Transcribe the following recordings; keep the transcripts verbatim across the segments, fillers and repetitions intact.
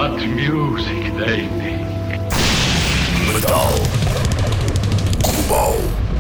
What music they make. Metal Global.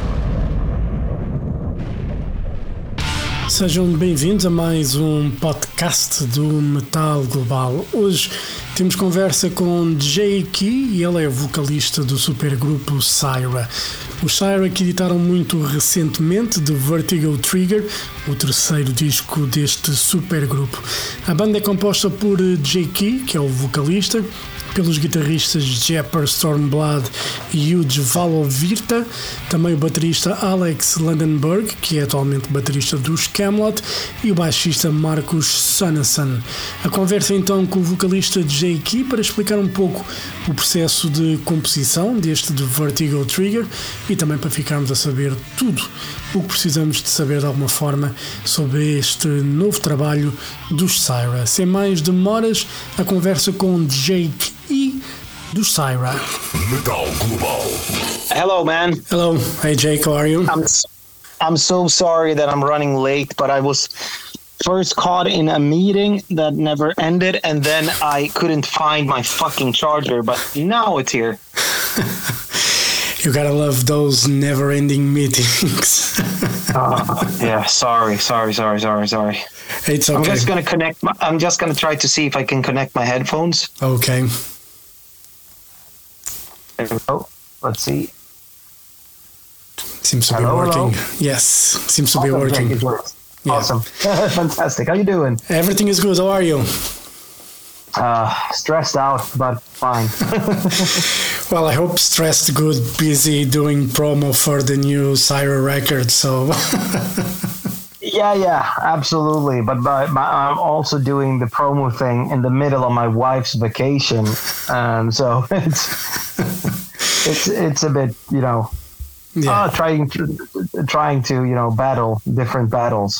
Sejam bem-vindos a mais um podcast do Metal Global. Hoje temos conversa com Jay Key e ele é vocalista do supergrupo Syra. Os Syra que editaram muito recentemente The Vertigo Trigger, o terceiro disco deste supergrupo. A banda é composta por Jay Key, que é o vocalista, pelos guitarristas Jepper Stormblood e Huge Valovirta, também o baterista Alex Landenberg, que é atualmente baterista dos Camelot, e o baixista Marcus Sonnesson. A conversa então com o vocalista Jay Key para explicar um pouco o processo de composição deste The Vertigo Trigger e também para ficarmos a saber tudo o que precisamos de saber de alguma forma sobre este novo trabalho dos Syra. Sem mais demoras, a conversa com Jay Key do Syra. Metal Global. Hello, man. Hello. Hey, Jake. How are you? I'm I'm so sorry that I'm running late, but I was first caught in a meeting that never ended, and then I couldn't find my fucking charger, but now it's here. You gotta love those never-ending meetings. uh, yeah, sorry, sorry, sorry, sorry, sorry. It's okay. I'm just gonna connect. My, I'm just gonna try to see if I can connect my headphones. Okay. There we go. Let's see. Seems to hello, be working. Hello? Yes, seems to awesome, be working. It works. Yeah. Awesome. Fantastic. How you doing? Everything is good. How are you? Uh, stressed out, but fine. Well, I hope stressed, good, busy doing promo for the new Syra record. So. yeah, yeah, absolutely. But, but, but I'm also doing the promo thing in the middle of my wife's vacation, um, so it's it's it's a bit, you know, yeah. uh, trying to trying to you know battle different battles.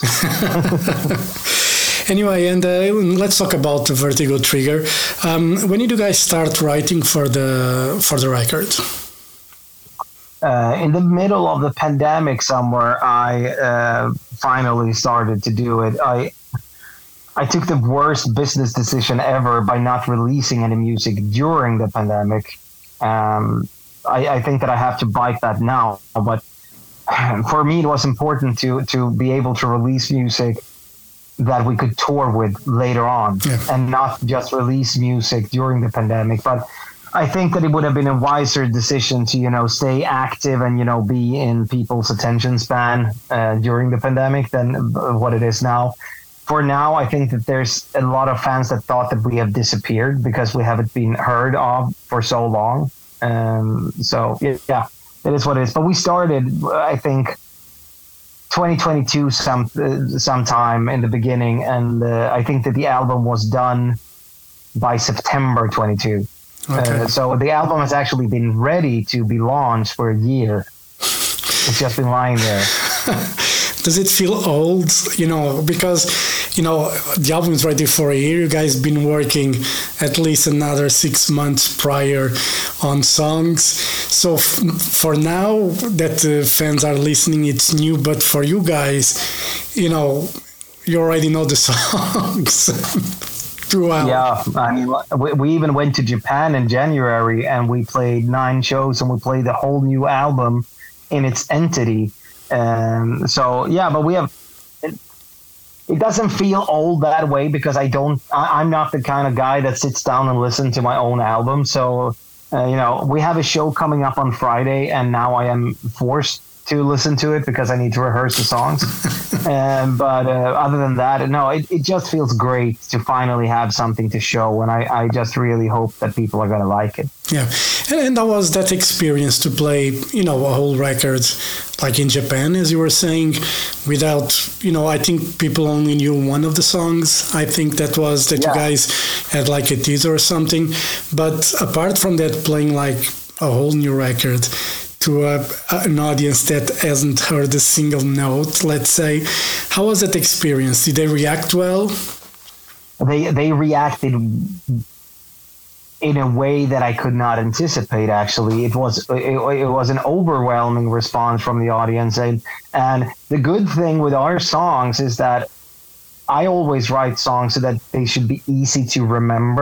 Anyway, and uh, let's talk about the Vertigo Trigger. Um, when did you guys start writing for the for the record? Uh, in the middle of the pandemic, somewhere, I uh, finally started to do it. I I took the worst business decision ever by not releasing any music during the pandemic. Um, I, I think that I have to bite that now, but for me, it was important to to be able to release music that we could tour with later on, yeah. and not just release music during the pandemic. But I think that it would have been a wiser decision to, you know, stay active and, you know, be in people's attention span uh, during the pandemic than what it is now. For now, I think that there's a lot of fans that thought that we have disappeared because we haven't been heard of for so long. Um, so, yeah, it is what it is. But we started, I think, twenty twenty-two some uh, sometime in the beginning, and uh, I think that the album was done by September twenty-two. Okay. Uh, so the album has actually been ready to be launched for a year. It's just been lying there. Does it feel old? You know, because, you know, the album is ready for a year. You guys been working at least another six months prior on songs. So f- for now that the fans are listening, it's new. But for you guys, you know, you already know the songs. Wow. Yeah, I mean, we, we even went to Japan in January and we played nine shows and we played the whole new album in its entity. Um, so yeah, but we have. It, it doesn't feel old that way because I don't. I, I'm not the kind of guy that sits down and listens to my own album. So uh, you know, we have a show coming up on Friday, and now I am forced to listen to it because I need to rehearse the songs. um, but uh, other than that, no, it, it just feels great to finally have something to show, and I, I just really hope that people are going to like it. Yeah, and, and that was that experience to play, you know, a whole record like in Japan, as you were saying, without, you know, I think people only knew one of the songs. I think that was that yeah. you guys had like a teaser or something. But apart from that, playing like a whole new record to a, an audience that hasn't heard a single note, let's say, how was that experience? Did they react well? They they reacted in a way that I could not anticipate. Actually, it was it, it was an overwhelming response from the audience, and and the good thing with our songs is that I always write songs so that they should be easy to remember.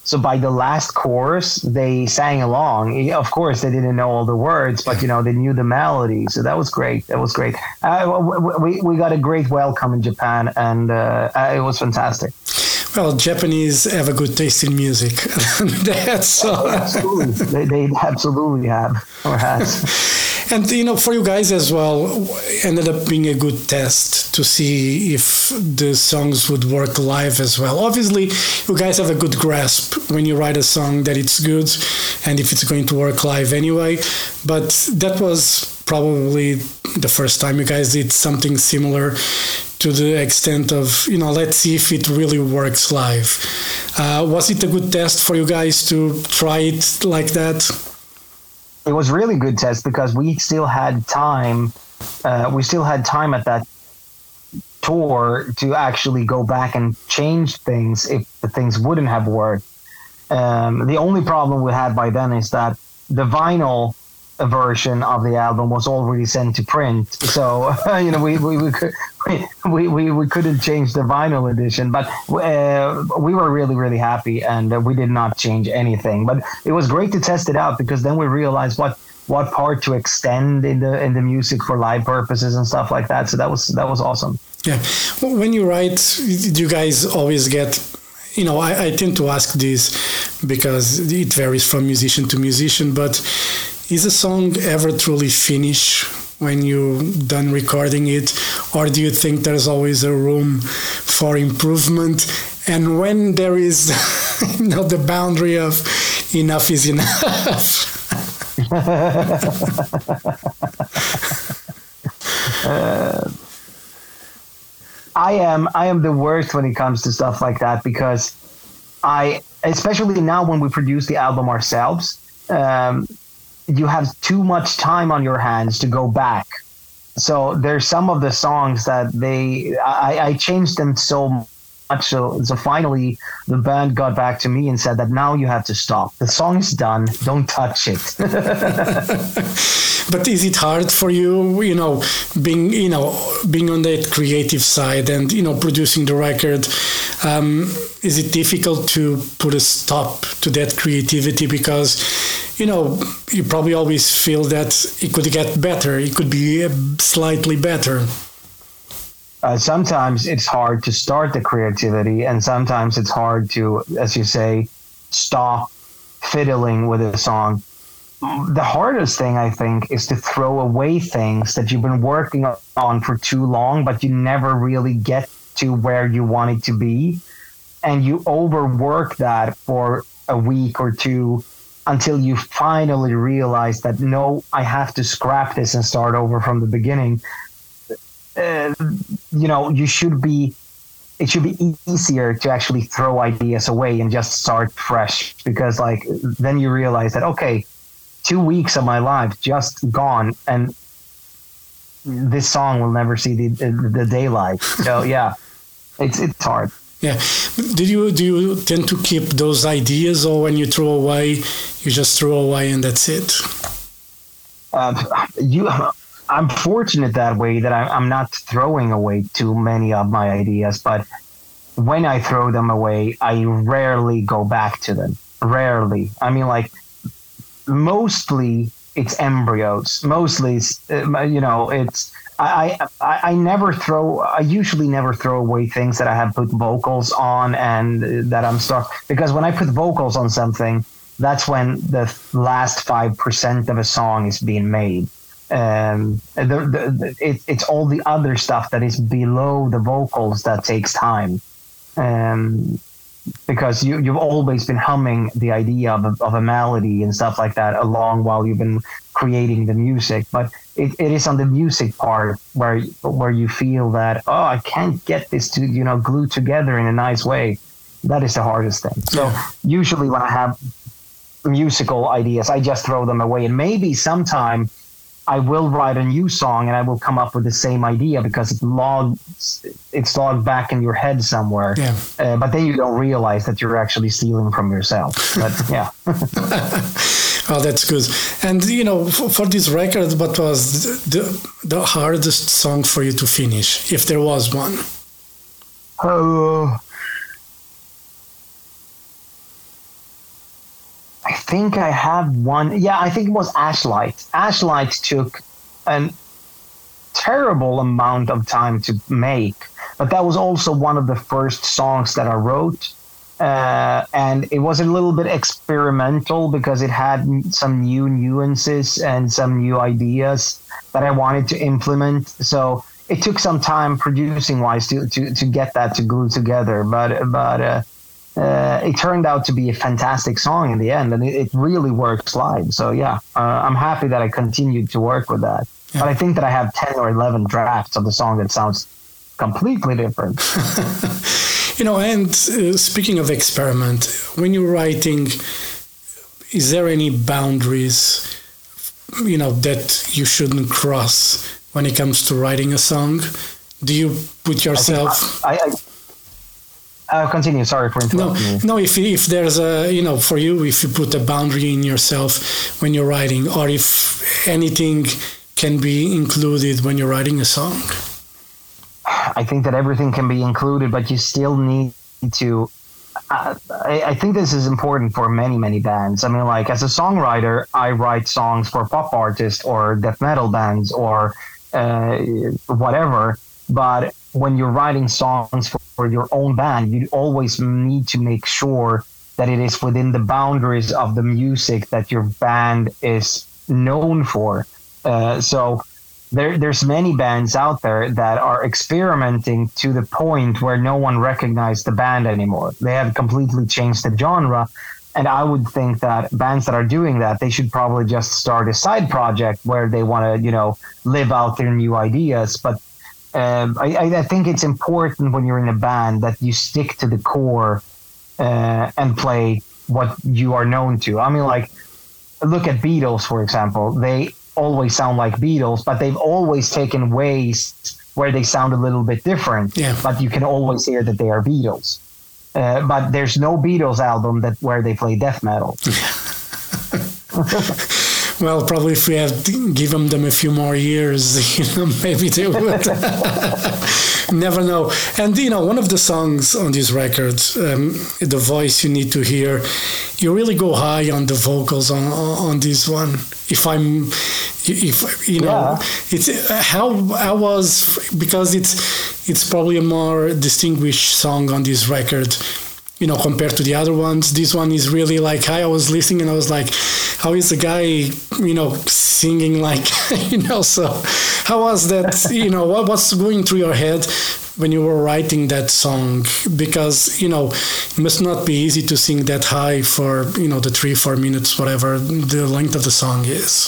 So by the last chorus, they sang along. Of course, they didn't know all the words, but you know they knew the melody. So that was great. That was great. Uh, we we got a great welcome in Japan, and uh, it was fantastic. Well, Japanese have a good taste in music. That's all. Absolutely, they, they absolutely have or has. And you know, for you guys as well, ended up being a good test to see if the songs would work live as well. Obviously, you guys have a good grasp when you write a song that it's good and if it's going to work live anyway. But that was probably the first time you guys did something similar, to the extent of, you know, let's see if it really works live. Uh, was it a good test for you guys to try it like that? It was really good test because we still had time. Uh, we still had time at that tour to actually go back and change things if the things wouldn't have worked. Um, the only problem we had by then is that the vinyl version of the album was already sent to print, so you know we we we, could, we we we couldn't change the vinyl edition, but uh, we were really really happy, and uh, we did not change anything. But it was great to test it out because then we realized what what part to extend in the in the music for live purposes and stuff like that. So that was that was awesome. Yeah, when you write, do you guys always get? You know, I, I tend to ask this because it varies from musician to musician, but is a song ever truly finished when you're done recording it? Or do you think there's always a room for improvement? And when there is, you know, the boundary of enough is enough? uh, I am I am the worst when it comes to stuff like that because I, especially now when we produce the album ourselves, um, you have too much time on your hands to go back. So there's some of the songs that they, I, I changed them so much. So, so finally the band got back to me and said that now you have to stop. The song is done. Don't touch it. But is it hard for you, you know, being, you know, being on that creative side and, you know, producing the record? Um, is it difficult to put a stop to that creativity? Because, you know, you probably always feel that it could get better. It could be slightly better. Uh, sometimes it's hard to start the creativity, and sometimes it's hard to, as you say, stop fiddling with a song. The hardest thing, I think, is to throw away things that you've been working on for too long, but you never really get to where you want it to be. And you overwork that for a week or two until you finally realize that, no, I have to scrap this and start over from the beginning. Uh, you know, you should be, it should be easier to actually throw ideas away and just start fresh, because like, then you realize that, okay, two weeks of my life just gone, and this song will never see the, the, the daylight. So yeah, it's, it's hard. Yeah. Did you, do you tend to keep those ideas, or when you throw away, you just throw away and that's it? Uh, you, I'm fortunate that way that I, I'm not throwing away too many of my ideas, but when I throw them away, I rarely go back to them. Rarely. I mean, like, mostly it's embryos. Mostly, uh, you know, it's, I, I, I never throw, I usually never throw away things that I have put vocals on and that I'm stuck, because when I put vocals on something, that's when the last five percent of a song is being made. Um, the, the, it, it's all the other stuff that is below the vocals that takes time. Um, because you, you've always been humming the idea of a, of a melody and stuff like that along while you've been creating the music. But it, it is on the music part where where you feel that, oh, I can't get this to, you know, glue together in a nice way. That is the hardest thing. So usually when I have musical ideas, I just throw them away. And maybe sometime I will write a new song and I will come up with the same idea because it's logged, it's logged back in your head somewhere. Yeah. Uh, but then you don't realize that you're actually stealing from yourself. But yeah. Oh, that's good. And, you know, for, for this record, what was the, the hardest song for you to finish, if there was one? Oh, think I have one. Yeah, I think it was Ashlight. Ashlight took a terrible amount of time to make, but that was also one of the first songs that I wrote. Uh, and it was a little bit experimental because it had some new nuances and some new ideas that I wanted to implement. So it took some time producing wise to, to, to get that to glue together. But, but, uh, Uh, it turned out to be a fantastic song in the end, and it, it really works live. So yeah, uh, I'm happy that I continued to work with that. Yeah. But I think that I have ten or eleven drafts of the song that sounds completely different. You know, and uh, speaking of experiment, when you're writing, is there any boundaries, you know, that you shouldn't cross when it comes to writing a song? Do you put yourself... I, I, I Uh, continue. Sorry for interrupting no, you. No, if if there's a, you know, for you, if you put a boundary in yourself when you're writing, or if anything can be included when you're writing a song. I think that everything can be included, but you still need to. Uh, I, I think this is important for many, many bands. I mean, like as a songwriter, I write songs for pop artists or death metal bands or uh, whatever, but when you're writing songs for, for your own band, you always need to make sure that it is within the boundaries of the music that your band is known for. Uh, so there, there's many bands out there that are experimenting to the point where no one recognizes the band anymore. They have completely changed the genre. And I would think that bands that are doing that, they should probably just start a side project where they want to, you know, live out their new ideas. But Um, I, I think it's important when you're in a band that you stick to the core uh, and play what you are known to. I mean, like, look at Beatles, for example. They always sound like Beatles, but they've always taken ways where they sound a little bit different. Yeah. But you can always hear that they are Beatles. Uh, but there's no Beatles album that where they play death metal. Well, probably if we had given them a few more years, you know, maybe they would. Never know. And, you know, one of the songs on this record, um, The Voice You Need to Hear, you really go high on the vocals on on this one. If I'm, if you know, yeah. it's how I was, because it's it's probably a more distinguished song on this record, you know, compared to the other ones. This one is really like, I was listening and I was like, how is the guy, you know, singing like, you know, so how was that, you know, what was going through your head when you were writing that song? Because, you know, it must not be easy to sing that high for, you know, the three, four minutes, whatever the length of the song is.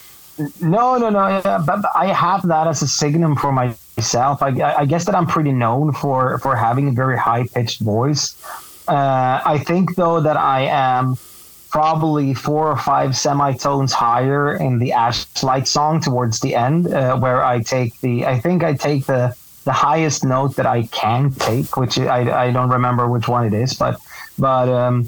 No, no, no. But I have that as a signum for myself. I, I guess that I'm pretty known for, for having a very high-pitched voice. Uh, I think, though, that I am probably four or five semitones higher in the Ashlight song towards the end, uh, where I take the, I think I take the, the highest note that I can take, which I, I don't remember which one it is, but, but, um,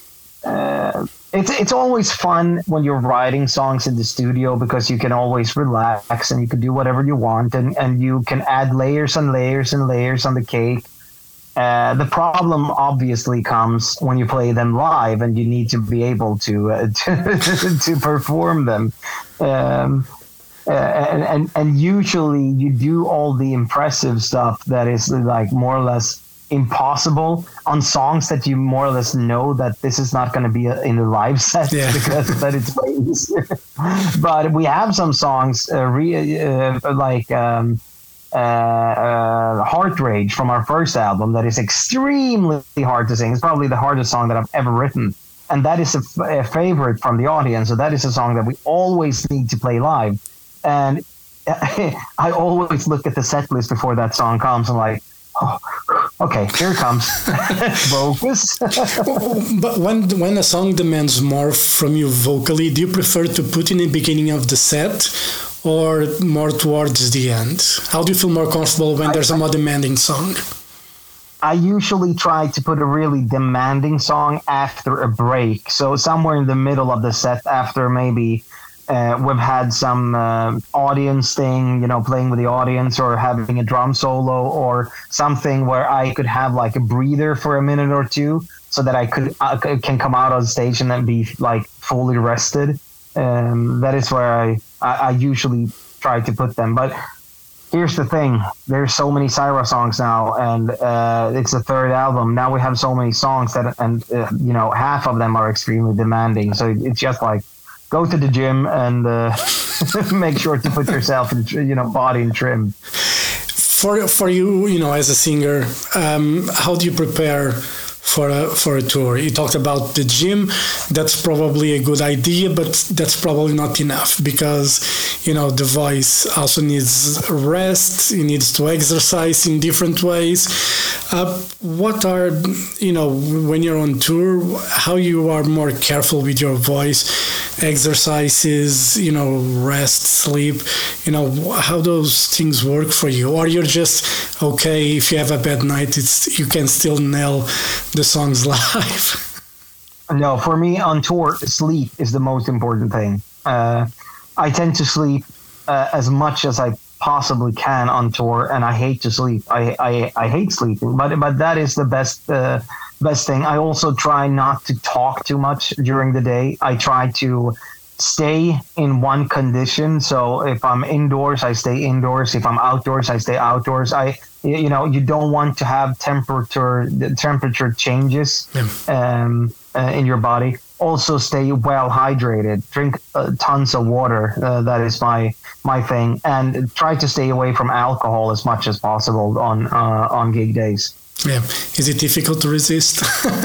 uh, it's, it's always fun when you're writing songs in the studio because you can always relax and you can do whatever you want, and, and you can add layers and layers and layers on the cake. Uh, the problem obviously comes when you play them live and you need to be able to uh, to, to perform them. Um, uh, and, and, and usually you do all the impressive stuff that is like more or less impossible on songs that you more or less know that this is not going to be a, in a live set, yeah. because that it's way easier. But we have some songs uh, re, uh, like... Um, Uh, uh, Heart Rage from our first album that is extremely hard to sing. It's probably the hardest song that I've ever written, and that is a, a favorite from the audience. So that is a song that we always need to play live, and I always look at the set list before that song comes and like, oh, okay, here it comes. Focus. But when when a song demands more from you vocally, do you prefer to put in the beginning of the set or more towards the end? How do you feel more comfortable when there's a more demanding song? I usually try to put a really demanding song after a break. So somewhere in the middle of the set, after maybe uh, we've had some uh, audience thing, you know, playing with the audience or having a drum solo or something where I could have like a breather for a minute or two. so that I could I can come out on stage and then be like fully rested. Um, that is where I, I, I usually try to put them. But here's the thing: there's so many Syra songs now, and uh, it's the third album. Now we have so many songs that, and uh, you know, half of them are extremely demanding. So it's just like go to the gym and uh, make sure to put yourself in, you know, body in trim. For for you, you know, as a singer, um, how do you prepare for a for a tour? You talked about the gym. That's probably a good idea, but that's probably not enough because, you know, the voice also needs rest. It needs to exercise in different ways. Uh, what are, you know, when you're on tour, how you are more careful with your voice, exercises, you know, rest, sleep, you know, how those things work for you? Or you're just, okay, if you have a bad night, it's you can still nail the songs live? No, for me on tour, sleep is the most important thing. Uh, I tend to sleep uh, as much as I possibly can on tour, and I hate to sleep. I, I, I hate sleeping, but but that is the best uh, best thing. I also try not to talk too much during the day. I try to stay in one condition. So if I'm indoors, I stay indoors. If I'm outdoors, I stay outdoors. I you know you don't want to have temperature the temperature changes yeah. um, uh, in your body. Also, stay well hydrated. Drink uh, tons of water. Uh, that is my my thing, and try to stay away from alcohol as much as possible on uh, on gig days. Yeah, is it difficult to resist?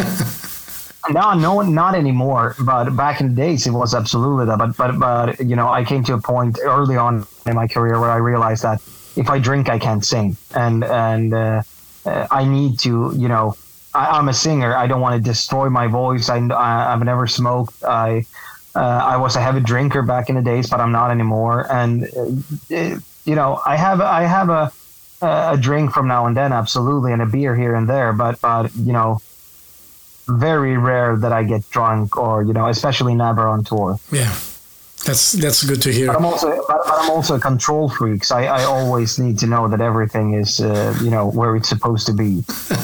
No, no, not anymore. But back in the days, it was absolutely that. But but but you know, I came to a point early on in my career where I realized that if I drink, I can't sing, and and uh, uh, I need to, you know. I, I'm a singer. I don't want to destroy my voice. I, I I've never smoked. I uh, I was a heavy drinker back in the days, but I'm not anymore. And uh, it, you know, I have I have a a drink from now and then, absolutely, and a beer here and there. But but you know, very rare that I get drunk, or you know, especially never on tour. Yeah. That's that's good to hear. But I'm also but, but I'm also a control freak. So I, I always need to know that everything is uh, you know where it's supposed to be.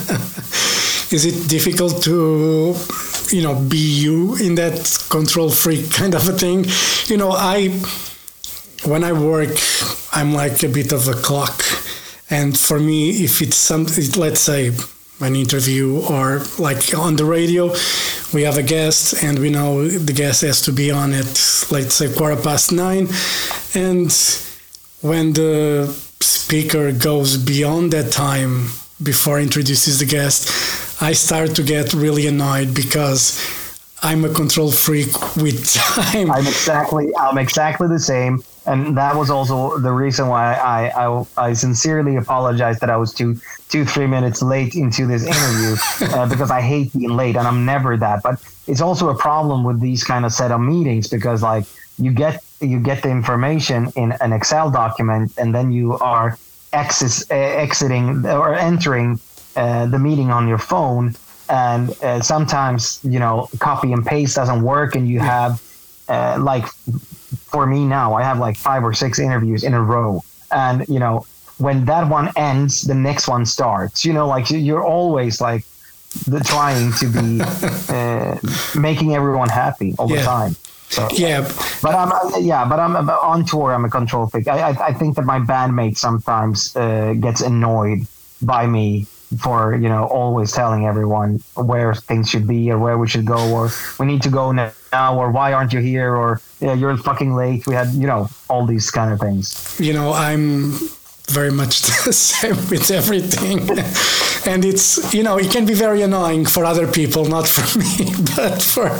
Is it difficult to, you know, be you in that control freak kind of a thing? You know, I when I work, I'm like a bit of a clock, and for me, if it's something, let's say an interview or like on the radio, we have a guest and we know the guest has to be on at, let's say, quarter past nine. And when the speaker goes beyond that time before introduces the guest, I start to get really annoyed because I'm a control freak with time. I'm exactly, I'm exactly the same. And that was also the reason why I, I, I sincerely apologize that I was two, two, three minutes late into this interview uh, because I hate being late and I'm never that. But it's also a problem with these kind of setup meetings because like you get you get the information in an Excel document and then you are exis, uh, exiting or entering uh, the meeting on your phone. And uh, sometimes, you know, copy and paste doesn't work and you have uh, like... For me now, I have like five or six interviews in a row. And, you know, when that one ends, the next one starts. You know, like you're always like the, trying to be uh, making everyone happy all yeah. the time. So, yeah. But I'm, yeah, but I'm on tour. I'm a control freak. I, I, I think that my bandmate sometimes uh, gets annoyed by me for, you know, always telling everyone where things should be or where we should go or we need to go now or why aren't you here or yeah, you're fucking late. We had, you know, all these kind of things. You know, I'm very much the same with everything. And it's, you know, it can be very annoying for other people, not for me, but for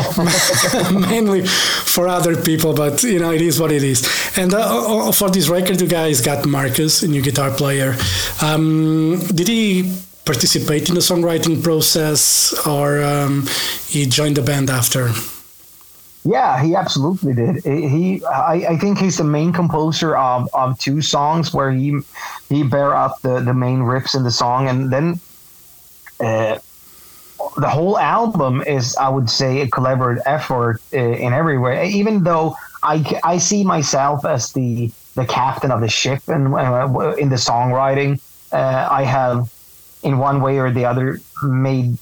mainly for other people. But, you know, it is what it is. And uh, for this record, you guys got Marcus, a new guitar player. Um, did he participate in the songwriting process or um, he joined the band after? Yeah, he absolutely did. He, I, I think he's the main composer of, of two songs where he he bear up the, the main riffs in the song, and then uh, the whole album is, I would say, a collaborative effort uh, in every way. Even though I, I see myself as the the captain of the ship, and uh, in the songwriting, uh, I have in one way or the other made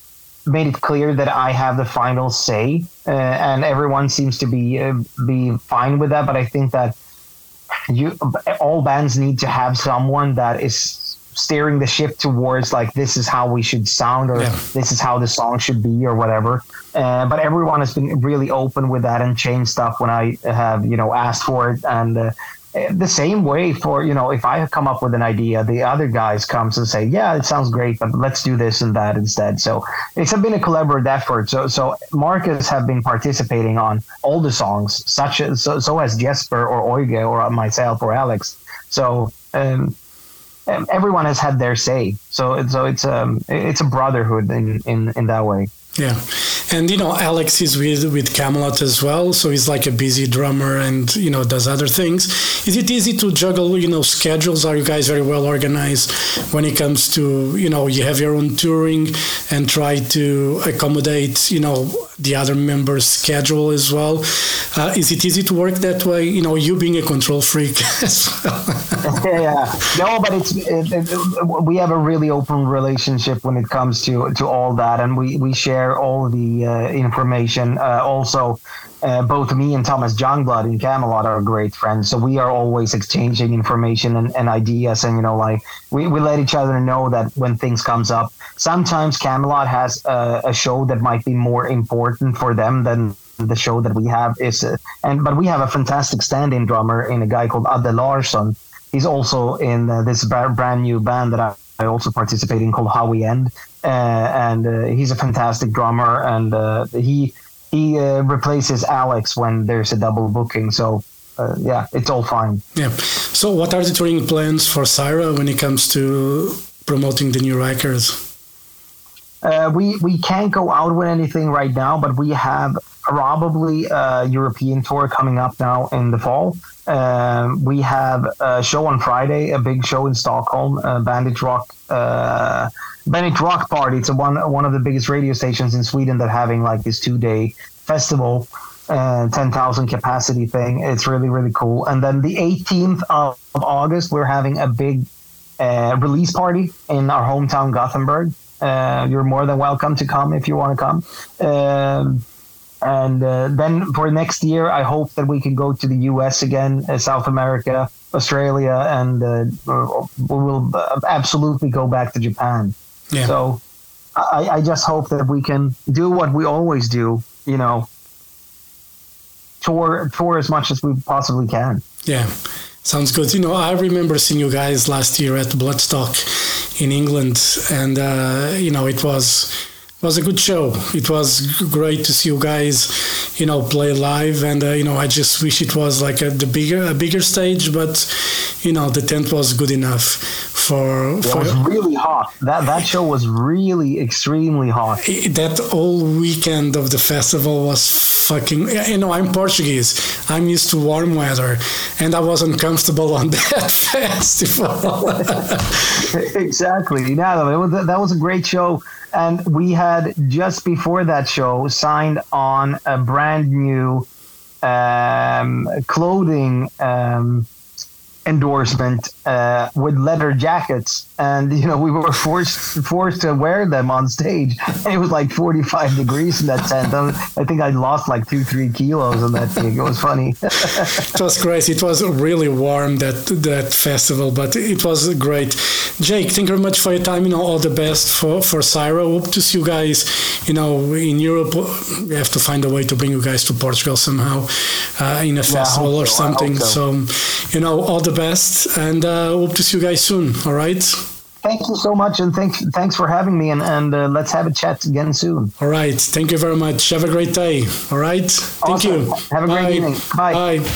made it clear that I have the final say, uh, and everyone seems to be uh, be fine with that. But I think that you all bands need to have someone that is steering the ship towards like, this is how we should sound, or yeah. this is how the song should be, or whatever. Uh, but everyone has been really open with that and changed stuff when I have, you know, asked for it. And uh, the same way for, you know, if I come up with an idea, the other guys comes and say, yeah, it sounds great, but let's do this and that instead. So it's been a collaborative effort. So so Marcus have been participating on all the songs, such as so, so has Jesper or Oige or myself or Alex. So um, everyone has had their say. So so it's um it's a brotherhood in in, in that way. Yeah. And, you know, Alex is with, with Kamelot as well, so he's like a busy drummer and, you know, does other things. Is it easy to juggle, you know, schedules? Are you guys very well organized when it comes to, you know, you have your own touring and try to accommodate, you know, the other members' schedule as well? Uh, is it easy to work that way? You know, you being a control freak as well. Yeah. No, but it's it, it, we have a really open relationship when it comes to, to all that, and we, we share all the uh, information. Uh, also, uh, both me and Thomas Youngblood in Kamelot are great friends, so we are always exchanging information and, and ideas, and you know, like we, we let each other know that when things comes up. Sometimes Kamelot has uh, a show that might be more important for them than the show that we have is, uh, and but we have a fantastic stand-in drummer in a guy called Adde Larsson. He's also in uh, this brand new band that I, I also participate in called How We End. Uh, and uh, he's a fantastic drummer, and uh, he he uh, replaces Alex when there's a double booking. So uh, yeah, it's all fine. Yeah. So what are the touring plans for Syra when it comes to promoting the new records? Uh, we we can't go out with anything right now, but we have probably a European tour coming up now in the fall. Um, we have a show on Friday, a big show in Stockholm, uh, Bandit Rock. Uh, Bandit Rock Party. It's a one one of the biggest radio stations in Sweden that having like this two day festival, uh, ten thousand capacity thing. It's really really cool. And then the eighteenth of August, we're having a big uh, release party in our hometown Gothenburg. Uh, you're more than welcome to come if you want to come. Um, and uh, then for next year, I hope that we can go to the U S again, uh, South America, Australia, and uh, we will absolutely go back to Japan. Yeah. So I, I just hope that we can do what we always do, you know, tour tour as much as we possibly can. Yeah, sounds good. You know, I remember seeing you guys last year at Bloodstock in England, and, uh, you know, it was... It was a good show. It was great to see you guys, you know, play live, and uh, you know, I just wish it was like a the bigger a bigger stage, but you know, the tent was good enough for. for it was really hot. That that show was really extremely hot. That whole weekend of the festival was fucking. You know, I'm Portuguese. I'm used to warm weather, and I was uncomfortable on that festival. Exactly. Yeah, it was, that was a great show. And we had, just before that show, signed on a brand new um, clothing um, endorsement uh, with leather jackets. And, you know, we were forced forced to wear them on stage. And it was like forty-five degrees in that tent. I think I lost like two, three kilos on that thing. It was funny. It was crazy. It was really warm, that that festival, but it was great. Jake, thank you very much for your time. You know, all the best for, for Syra. Hope to see you guys, you know, in Europe. We have to find a way to bring you guys to Portugal somehow uh, in a yeah, festival or so. something. So. so, you know, all the best, and uh, hope to see you guys soon. All right? Thank you so much, and thanks thanks for having me, and, and uh, let's have a chat again soon. All right. Thank you very much. Have a great day. All right? Thank awesome. you. Have a Bye. great evening. Bye. Bye.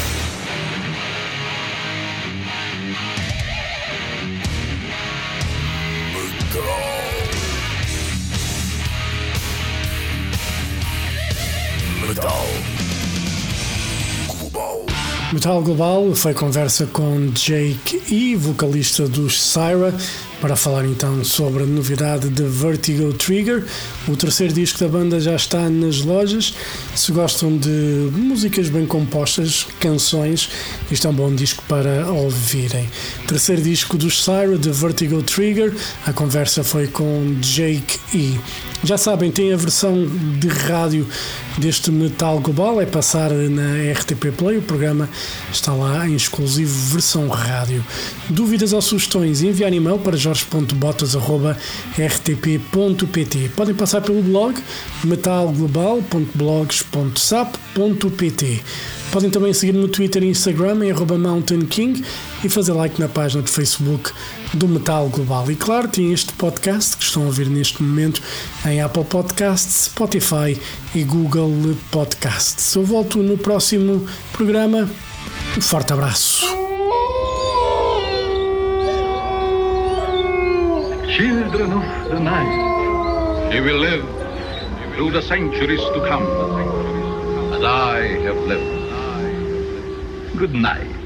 Metal Global foi conversa com Jake E, vocalista dos Syra. para falar então sobre a novidade de Vertigo Trigger. O terceiro disco da banda já está nas lojas. Se gostam de músicas bem compostas, canções, isto é um bom disco para ouvirem. Terceiro disco dos Syra, de Vertigo Trigger. A conversa foi com Jake E. Já sabem, tem a versão de rádio deste Metal Global, é passar na R T P Play, o programa está lá em exclusivo versão rádio. Dúvidas ou sugestões, enviar e-mail para jorge ponto botas arroba r t p ponto p t. Podem passar pelo blog metal global ponto blogs ponto sap ponto p t. Podem também seguir no Twitter e Instagram em arroba Mountain King e fazer like na página de Facebook do Metal Global. E claro, tem este podcast que estão a ouvir neste momento em Apple Podcasts, Spotify e Google Podcasts. Eu volto no próximo programa. Um forte abraço. Children of the night, you will live through the centuries to come, as I have lived. Good night.